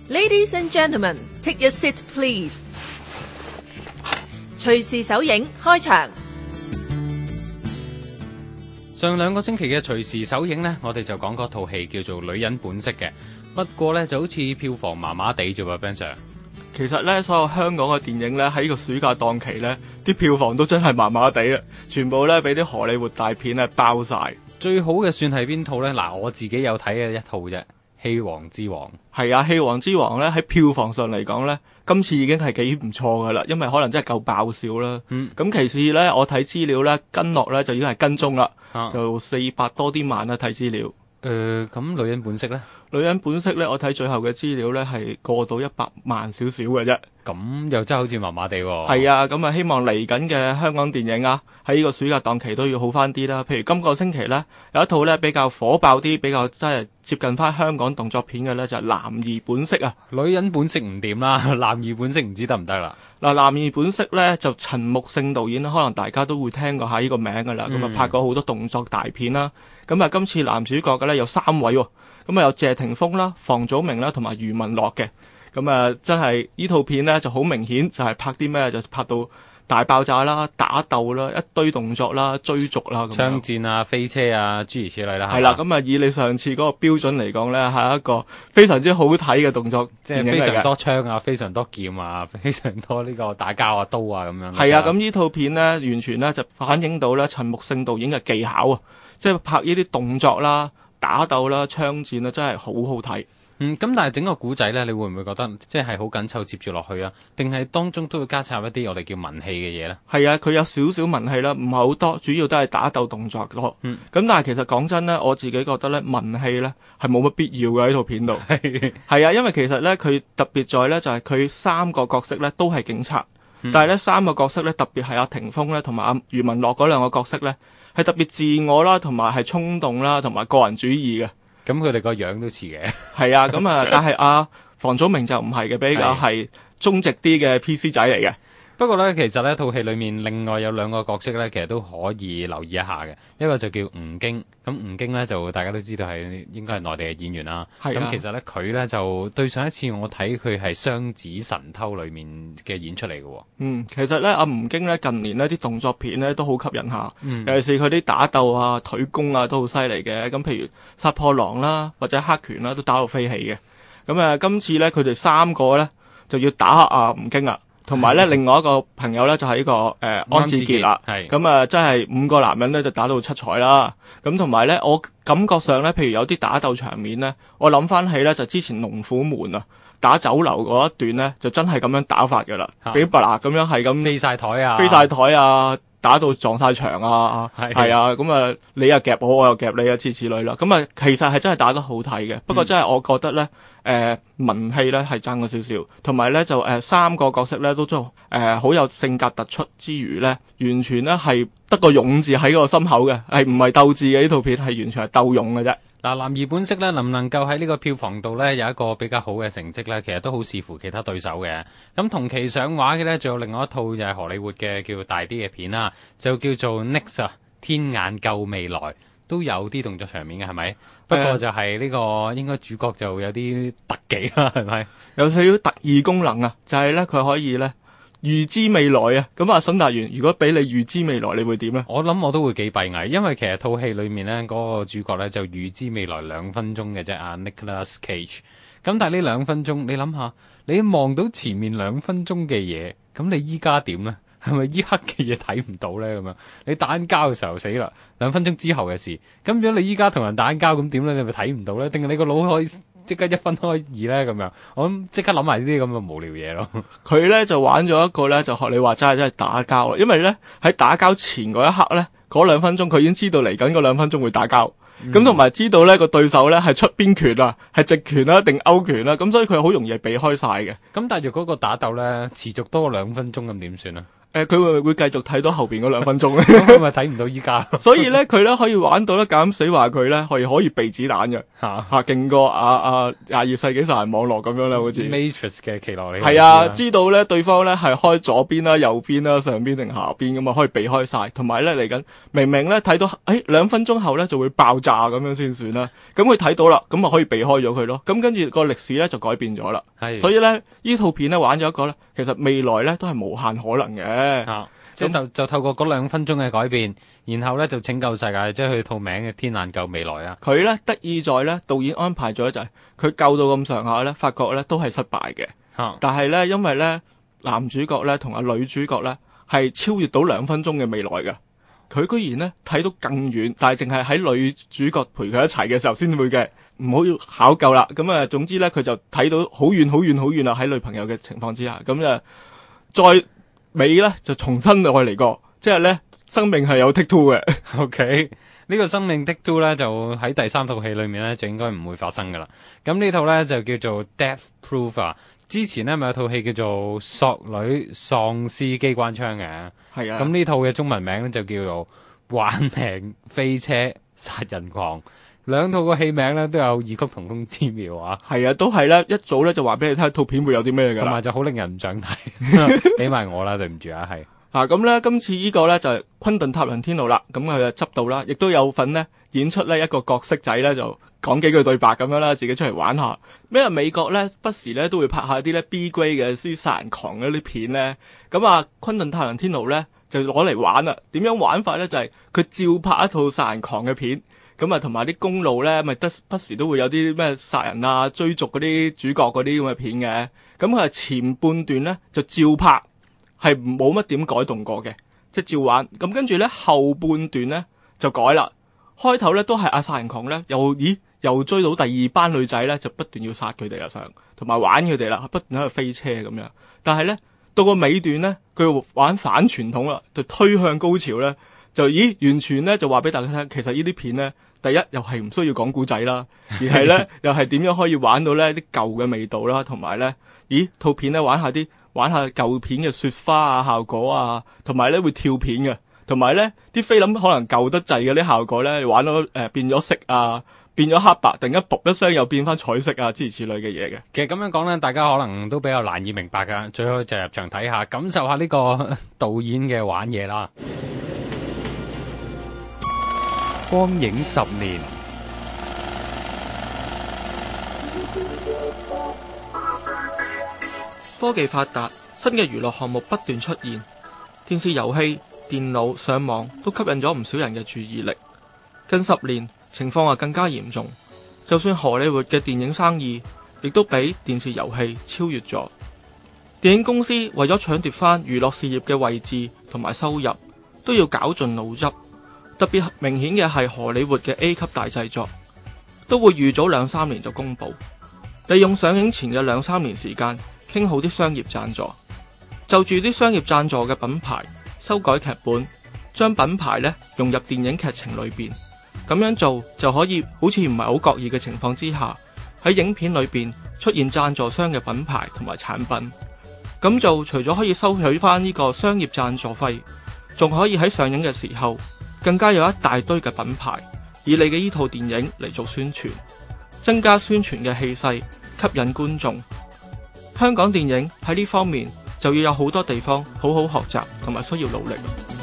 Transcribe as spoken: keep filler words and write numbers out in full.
Ladies and gentlemen, take your seat, please. 隨時首映開場。 上兩個星期嘅隨時首映呢，我哋就講嗰套戲叫做《女人本色》嘅。不過呢，就好似票房麻麻地啫喎 Ben Sir。 其實咧，所有香港嘅電影咧喺呢個暑假檔期咧，啲票房都真係麻麻地啊！全部咧俾啲荷里活大片咧包晒。 最好嘅算係邊套呢？嗱，我自己有睇嘅一套啫，《戲王之王》。 係啊，《戲王之王》咧喺票房上嚟講咧，今次已經係幾唔錯噶啦，因為可能真係夠爆笑啦。嗯。咁其次咧，我睇資料咧跟落咧就已經係跟蹤啦，啊、就四百多啲萬啦睇資料。 誒、呃，咁女人本色咧？ 女人本色咧，我睇最後嘅資料咧係過到一百萬少少嘅啫。 咁又真係好似麻麻地喎。 係啊，咁啊希望嚟緊嘅香港電影啊，喺呢個暑假檔期都要好翻啲啦。譬如今個星期咧有一套咧比較火爆啲，比較真係接近翻香港動作片嘅咧就係、是《男兒本色》啊。 女人本色唔掂啦，男兒本色唔知得唔得啦。 嗱，《男兒本色》咧就陳木勝導演，可能大家都會聽過下呢個名噶啦。咁啊、嗯、拍過好多動作大片啦。咁啊今次男主角嘅咧有三位喎。咁啊有謝霆鋒啦、房祖名啦同埋余文樂嘅。咁啊，真係呢套片呢就好明顯，就係拍啲咩？就拍到大爆炸啦、打鬥啦、一堆動作啦、追逐啦、咁槍戰啊、飛車啊，諸如此類啦。 係啦，咁啊，以你上次嗰個標準嚟講呢，係一個非常之好睇嘅動作電影嚟嘅， 即係非常多槍啊、非常多劍啊、非常多呢個打交啊、刀啊咁樣。 係啊，咁呢套片呢，完全呢就反映到呢陳木勝導演嘅技巧啊，即係拍呢啲動作啦、打鬥啦、槍戰啊，真係好好睇。 嗯，咁但係整個古仔咧，你會唔會覺得即係好緊湊接住落去啊？定係當中都會加插一啲我哋叫文戲嘅嘢咧？ 係啊，佢有少少文戲啦，唔係好多，主要都係打鬥動作咯。嗯，咁但係其實講真咧，我自己覺得咧文戲咧係冇乜必要嘅喺套片度。係係啊，因為其實咧佢特別在咧就係佢三個角色咧都係警察，嗯、但係咧三個角色咧特別係阿霆鋒咧同埋阿余文樂嗰兩個角色咧係特別自我啦，同埋係衝動啦，同埋個人主義嘅。 咁佢哋個樣都似嘅， 係啊，咁啊，但係阿房祖名就唔係嘅，比較係忠直啲嘅 P C 仔嚟嘅。 不過咧，其實呢套戲裏面另外有兩個角色咧，其實都可以留意一下嘅。一個就叫吳京，咁吳京咧就大家都知道係應該係內地嘅演員啦。咁、啊、其實咧佢咧就對上一次我睇佢係《雙子神偷》裏面嘅演出嚟嘅。 嗯，其實咧阿吳京咧近年呢啲動作片咧都好吸引下， 嗯、 尤其是佢啲打鬥啊、腿功啊都好犀利嘅。咁譬如殺破狼啦，或者黑拳啦，都打到飛起嘅。咁啊，今次咧佢哋三個咧就要打阿吳京啊。同埋咧，另外一個朋友咧就係、是、呢、這個誒、呃、安志傑啦，咁啊，真係五個男人咧就打到七彩啦。咁同埋咧，我感覺上咧，譬如有啲打鬥場面咧，我諗翻起咧就之前龍虎門啊打酒樓嗰一段咧，就真係咁樣打法噶啦，俾白拿咁樣係咁飛晒台啊， 飛晒台啊，打到撞晒牆啊，係啊，咁啊你又夾我，我又夾你啊，諸如此類啦。咁啊，其實係真係打得好睇嘅，不過真係我覺得咧。嗯誒、呃、文戲咧係爭咗少少，同埋咧就誒、呃、三個角色咧都都誒好有性格突出之餘咧，完全咧係得個勇字喺個心口嘅，係唔係鬥智嘅呢套片係完全係鬥勇嘅啫。 嗱，男兒本色咧能唔能夠喺呢個票房度咧有一個比較好嘅成績咧，其實都好視乎其他對手嘅。咁同期上畫嘅咧，仲有另外一套就係荷里活嘅叫大啲嘅片啦，就叫做 Next 啊，天眼救未來。都有啲動作場面嘅係咪？不過就係呢、這個、呃、應該主角就有啲特技啦，係咪？ 有少少特異功能啊，就係咧佢可以咧預知未來啊。咁啊，沈達元，如果俾你預知未來，你會點咧？ 我諗我都會幾閉翳，因為其實套戲裏面咧嗰、那個主角咧就預知未來兩分鐘嘅啫，啊 Nicolas Cage。咁但係呢兩分鐘，你諗下，你望到前面兩分鐘嘅嘢，咁你依家點咧？係咪依刻嘅嘢睇唔到咧？咁樣你打緊交嘅時候死啦，兩分鐘之後嘅事。咁如果你依家同人打緊交咁點咧？你咪睇唔到咧？定係你個腦可以即刻一分開二咧？咁樣我諗即刻諗埋呢啲咁嘅無聊嘢咯。佢咧就玩咗一個咧，就學你話齋，真係打交啦。因為咧喺打交前嗰一刻咧，嗰兩分鐘佢已經知道嚟緊嗰兩分鐘會打交。咁同埋知道咧個對手咧係出邊拳啊，係直拳啦定勾拳啦，咁所以佢好容易係避開晒嘅。 咁但係如果個打鬥咧持續多過兩分鐘咁點算啊？ 誒，佢會會繼續睇到後邊嗰兩分鐘咧？ 咁佢咪睇唔到依家？ 所以咧，佢咧可以玩到咧減死話佢咧可以可以避子彈嘅嚇嚇，勁過啊啊廿二世紀殺人網絡咁樣啦，好似 Matrix 嘅奇洛里係啊，知道咧對方咧係開左邊啦、右邊啦、上邊定下邊咁啊，可以避開晒。同埋咧嚟緊明明咧睇到誒兩分鐘後咧就會爆炸咁樣先算啦。咁佢睇到啦，咁啊可以避開咗佢咯。咁跟住個歷史咧就改變咗啦。 係， 所以咧呢套片咧玩咗一個咧，其實未來咧都係無限可能嘅。 啊，即係就就透過嗰兩分鐘嘅改變，然後咧就拯救世界，即係佢套名嘅《天難救未來》啊！ 佢咧得意在咧，導演安排咗就係佢救到咁上下咧，發覺咧都係失敗嘅。 啊、 但係咧，因為咧男主角咧同阿女主角咧係超越到兩分鐘嘅未來嘅，佢居然咧睇到更遠，但係淨係喺女主角陪佢一齊嘅時候先會嘅，唔好考究啦。咁啊，總之咧佢就睇到好遠好遠好遠啦，喺女朋友嘅情況之下，咁啊再。尾咧就重新再嚟過，即係咧生命係有 take two 嘅。 OK，呢個生命 take two 咧就喺第三套戲裏面咧就應該唔會發生噶啦。咁呢套咧就叫做 Death Proof 啊。之前咧咪有套戲叫做索女喪屍機關槍嘅， 係啊。 咁呢套嘅中文名咧就叫做玩命飛車殺人狂。兩套個戲名咧都有異曲同工之妙啊！ 係啊，都係咧，一早咧就話俾你聽套片會有啲咩㗎啦， 同埋就好令人唔想睇，俾埋我啦，對唔住啊，係啊咁咧，今次呢個咧就係昆頓塔倫天奴啦，咁佢就執到啦，亦都有份呢演出呢一個角色仔咧，就講幾句對白咁樣啦，自己出嚟玩下。咩啊？美國咧不時咧都會拍下啲咧 B grade 嘅啲殺人狂嗰啲片咧，咁啊昆頓塔倫天奴咧就攞嚟玩啦。點樣玩法咧？就係、是、佢照拍一套殺人狂嘅片。咁啊，同埋啲公路咧，咪得不時都會有啲咩殺人啊、追逐嗰啲主角嗰啲咁嘅片嘅。咁佢係前半段咧就照拍，係冇乜點改動過嘅，即係照玩。咁跟住咧後半段咧就改啦。開頭咧都係阿殺人狂咧，又咦又追到第二班女仔咧，就不斷要殺佢哋啦，上同埋玩佢哋啦，不斷喺度飛車咁樣。但係咧到個尾段咧，佢玩反傳統啦，就推向高潮咧。就咦，完全咧就話俾大家聽，其實呢啲片咧，第一又係唔需要講古仔啦，而係咧又係點樣可以玩到咧啲舊嘅味道啦，同埋咧，咦套片咧玩下啲玩下舊片嘅雪花啊效果啊，同埋咧會跳片嘅，同埋咧啲菲林可能舊得滯嘅啲效果咧，玩到誒、呃、變咗色啊，變咗黑白，突然間噗一聲又變翻彩色啊，諸如此類嘅嘢嘅。 其實咁樣講咧，大家可能都比較難以明白噶，最好就入場睇下，感受下呢個導演嘅玩嘢啦。光影十年， 科技發達，新嘅娛樂項目不斷出現，電視遊戲、電腦、上網都吸引咗唔少人嘅注意力。近十年情況啊更加嚴重，就算荷里活嘅電影生意，亦都俾電視遊戲超越咗。電影公司為咗搶奪翻娛樂事業嘅位置同埋收入，都要絞盡腦汁。特別明顯嘅係荷里活嘅 A 級大製作，都會預早兩三年就公佈，利用上映前嘅兩三年時間傾好啲商業贊助，就住啲商業贊助嘅品牌修改劇本，將品牌咧融入電影劇情裏邊，咁樣做就可以好似唔係好覺意嘅情況之下，喺影片裏邊出現贊助商嘅品牌同埋產品。咁做除咗可以收取翻呢個商業贊助費，仲可以喺上映嘅時候更加有一大堆嘅品牌以你嘅呢套電影嚟做宣傳，增加宣傳嘅氣勢，吸引觀眾。香港電影喺呢方面就要有好多地方好好學習同埋需要努力。